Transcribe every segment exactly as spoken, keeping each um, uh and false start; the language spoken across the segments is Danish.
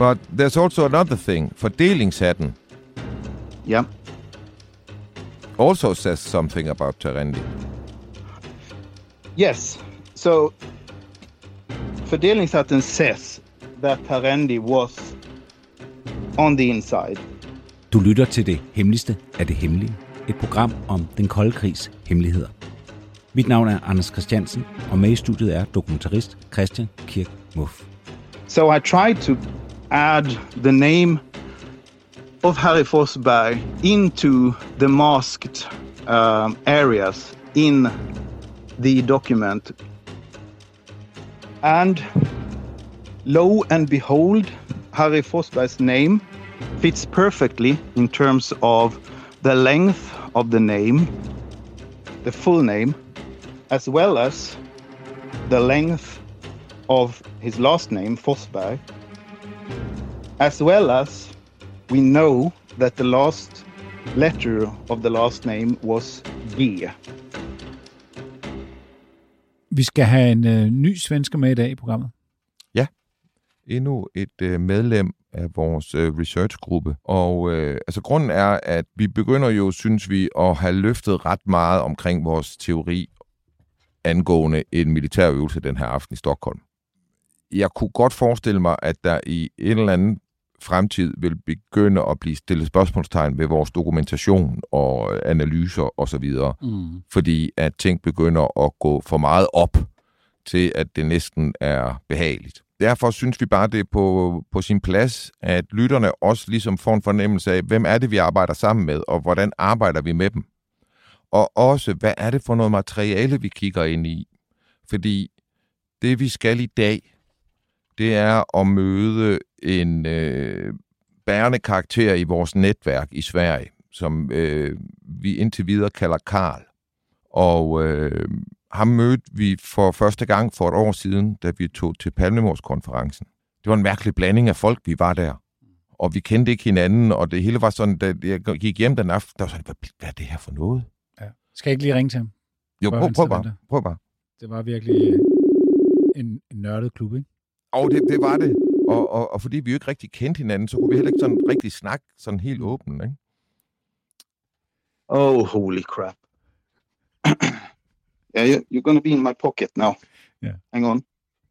But there's also another thing. Fordelingshatten. Yeah. Also says something about Terendi. Yes. So, Fordelingshatten says that Terendi was on the inside. Du lytter til det hemmeligste af det hemmelige. Et program om den kolde krigs hemmeligheder. Mit navn er Anders Christiansen, og med i studiet er dokumentarist Christian Kirk Muff. So I tried to add the name of Harry Forsberg into the masked um, areas in the document. And lo and behold, Harry Forsberg's name fits perfectly in terms of the length of the name, the full name, as well as the length of his last name, Forsberg, as well as we know that the last letter of the last name was G. Vi skal have en øh, ny svensker med i dag i programmet. Ja, endnu et øh, medlem af vores øh, researchgruppe. Og øh, altså grunden er, at vi begynder jo, synes vi, at have løftet ret meget omkring vores teori angående en militærøvelse den her aften i Stockholm. Jeg kunne godt forestille mig, at der i en eller anden fremtid vil begynde at blive stillet spørgsmålstegn ved vores dokumentation og analyser osv., mm. fordi at ting begynder at gå for meget op til, at det næsten er behageligt. Derfor synes vi bare, det er på, på sin plads, at lytterne også ligesom får en fornemmelse af, hvem er det, vi arbejder sammen med, og hvordan arbejder vi med dem. Og også, hvad er det for noget materiale, vi kigger ind i? Fordi det, vi skal i dag, det er at møde en øh, bærende karakter i vores netværk i Sverige, som øh, vi indtil videre kalder Karl. Og øh, ham mødte vi for første gang for et år siden, da vi tog til Palmemordskonferencen. Det var en mærkelig blanding af folk, vi var der. Og vi kendte ikke hinanden, og det hele var sådan, da jeg gik hjem den aften, der var sådan, hvad, hvad er det her for noget? Ja. Skal jeg ikke lige ringe til ham? Jo, prøv, prøv bare. Prøv bare. Det var virkelig en, en nørdet klub, ikke? Og det, det var det. Og, og, og fordi vi jo ikke rigtig kendte hinanden, så kunne vi heller ikke sådan rigtig snakke sådan helt åbent, ikke? Oh, holy crap. Yeah, you, you're going to be in my pocket now. Yeah. Hang on.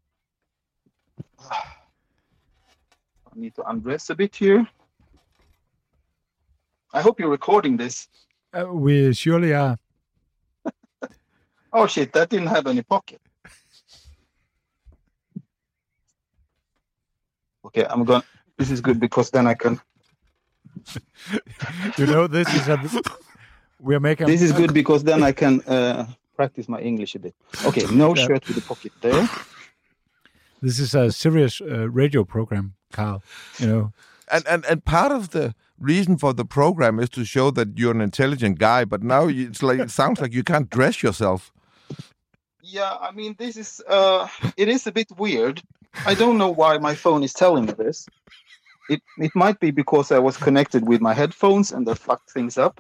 I need to undress a bit here. I hope you're recording this. Uh, we surely are. Oh shit, that didn't have any pocket. Okay, I'm going. This is good because then I can. You know, this is a. We are making. This is good because then I can uh, practice my English a bit. Okay, no yeah. shirt with the pocket there. This is a serious uh, radio program, Carl. You know, and and and part of the reason for the program is to show that you're an intelligent guy. But now it's like it sounds like you can't dress yourself. Yeah, I mean, this is uh, it is a bit weird. I don't know why my phone is telling me this. It it might be because I was connected with my headphones and that fucked things up.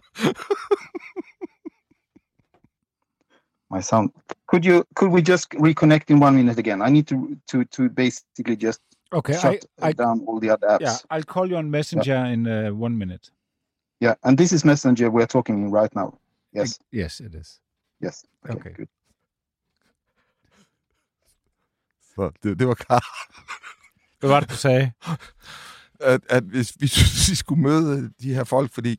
My sound. Could you could we just reconnect in one minute again? I need to to to basically just okay, shut I, I, down all the other apps. Yeah, I'll call you on Messenger yeah. in uh, one minute. Yeah, and this is Messenger we're talking in right now. Yes. I, yes, it is. Yes. Okay. okay. Good. Så det, det var Karl. Hvad var det, du sagde? At, at hvis vi synes, vi skulle møde de her folk, fordi...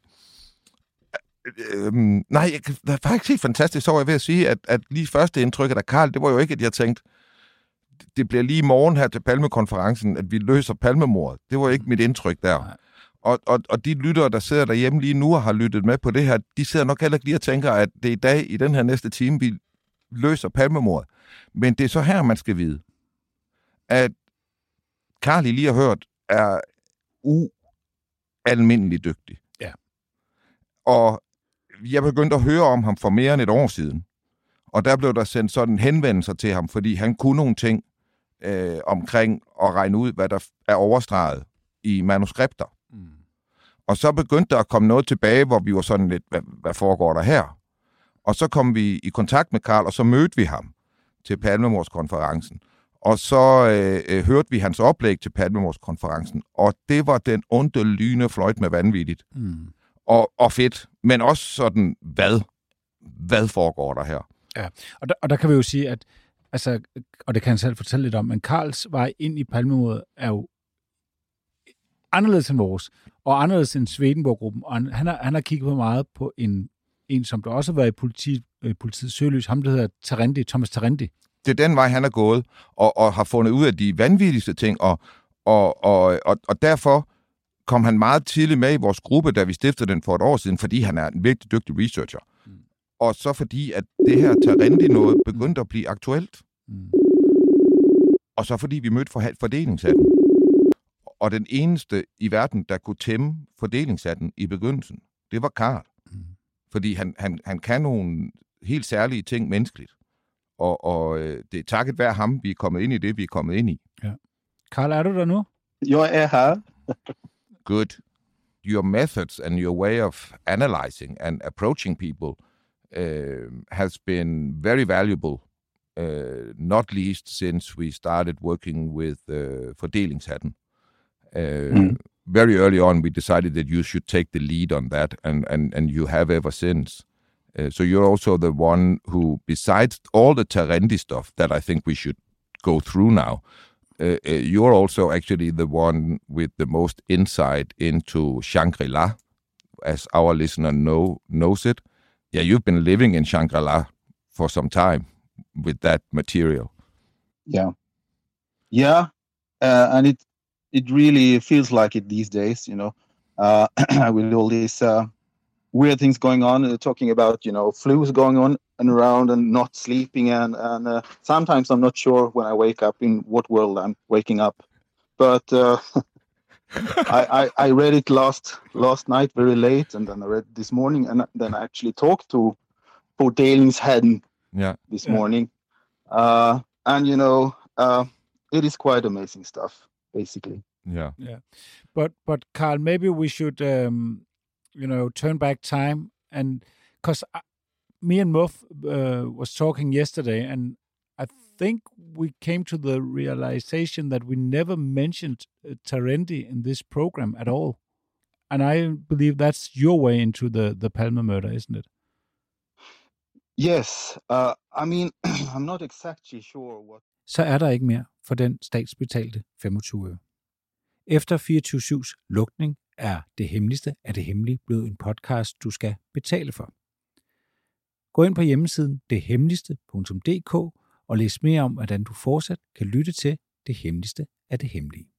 Øhm, nej, jeg, det er faktisk helt fantastisk, så var jeg ved at sige, at, at lige første indtryk af Karl, det var jo ikke, at jeg tænkte, det bliver lige i morgen her til Palmekonferencen, at vi løser Palmemordet. Det var ikke mit indtryk der. Og, og, og de lyttere, der sidder derhjemme lige nu og har lyttet med på det her, de sidder nok heller ikke lige og tænker, at det er i dag, i den her næste time, vi løser Palmemordet. Men det er så her, man skal vide, at Karl, I lige har hørt, er ualmindelig dygtig. Ja. Og jeg begyndte at høre om ham for mere end et år siden. Og der blev der sendt sådan henvendelser til ham, fordi han kunne nogle ting øh, omkring at regne ud, hvad der er overstreget i manuskripter. Mm. Og så begyndte der at komme noget tilbage, hvor vi var sådan lidt, hvad, hvad foregår der her? Og så kom vi i kontakt med Karl, og så mødte vi ham til Palmemordskonferencen. og så øh, hørte vi hans oplæg til Palmemordskonferencen, og det var den onde lyne fløjt med vanvittigt. Mm. Og, og fedt, men også sådan, hvad? Hvad foregår der her? Ja, og der, og der kan vi jo sige, at, altså, og det kan han selv fortælle lidt om, men Karls vej ind i Palmemordet er jo anderledes end vores, og anderledes end Swedenborg-gruppen, og han, han, har, han har kigget på meget på en, en som der også har været i politi, øh, politiets søgelys, ham der hedder Terendi, Thomas Terendi. Det er den vej, han er gået, og, og har fundet ud af de vanvittigste ting, og, og, og, og, og derfor kom han meget tidligt med i vores gruppe, da vi stiftede den for et år siden, fordi han er en virkelig dygtig researcher. Mm. Og så fordi, at det her Terendi noget begyndte at blive aktuelt. Mm. Og så fordi vi mødte fordelingshatten. Og den eneste i verden, der kunne tæmme fordelingshatten i begyndelsen, det var Karl. Mm. Fordi han, han, han kan nogle helt særlige ting menneskeligt. Og, og det er takket være ham, vi er kommet ind i det, vi er kommet ind i. Ja. Karl, er du der nu? Jeg er her. Good. Your methods and your way of analyzing and approaching people uh, has been very valuable, uh, not least since we started working with uh, Fordelingshatten. Uh, mm. Very early on, we decided that you should take the lead on that, and, and, and you have ever since. Uh, so you're also the one who, besides all the Terendi stuff that I think we should go through now, uh, uh, you're also actually the one with the most insight into Shangri-La, as our listener know knows it. Yeah, you've been living in Shangri-La for some time with that material. Yeah. Yeah, uh, and it it really feels like it these days, you know, uh, with all these uh, weird things going on, uh, talking about, you know, flus going on and around and not sleeping. And, and uh, sometimes I'm not sure when I wake up in what world I'm waking up. But uh, I, I, I read it last last night very late, and then I read it this morning, and then I actually talked to Fordelingshatten yeah. this yeah. morning. Uh, and, you know, uh, it is quite amazing stuff, basically. Yeah. Yeah. But, but Karl, maybe we should... Um... you know, turn back time, and because me and Muff uh, was talking yesterday, and I think we came to the realization that we never mentioned uh, Terendi in this program at all, and I believe that's your way into the the Palme murder, isn't it? Yes, uh, I mean, I'm not exactly sure what. Så er der ikke mere for den statsbetalte femogtyve øre. Efter fireogtyve syvs lukning er Det Hemmeligste af det Hemmelige blevet en podcast, du skal betale for. Gå ind på hjemmesiden det hemmeligste punktum d k og læs mere om, hvordan du fortsat kan lytte til Det Hemmeligste af det Hemmelige.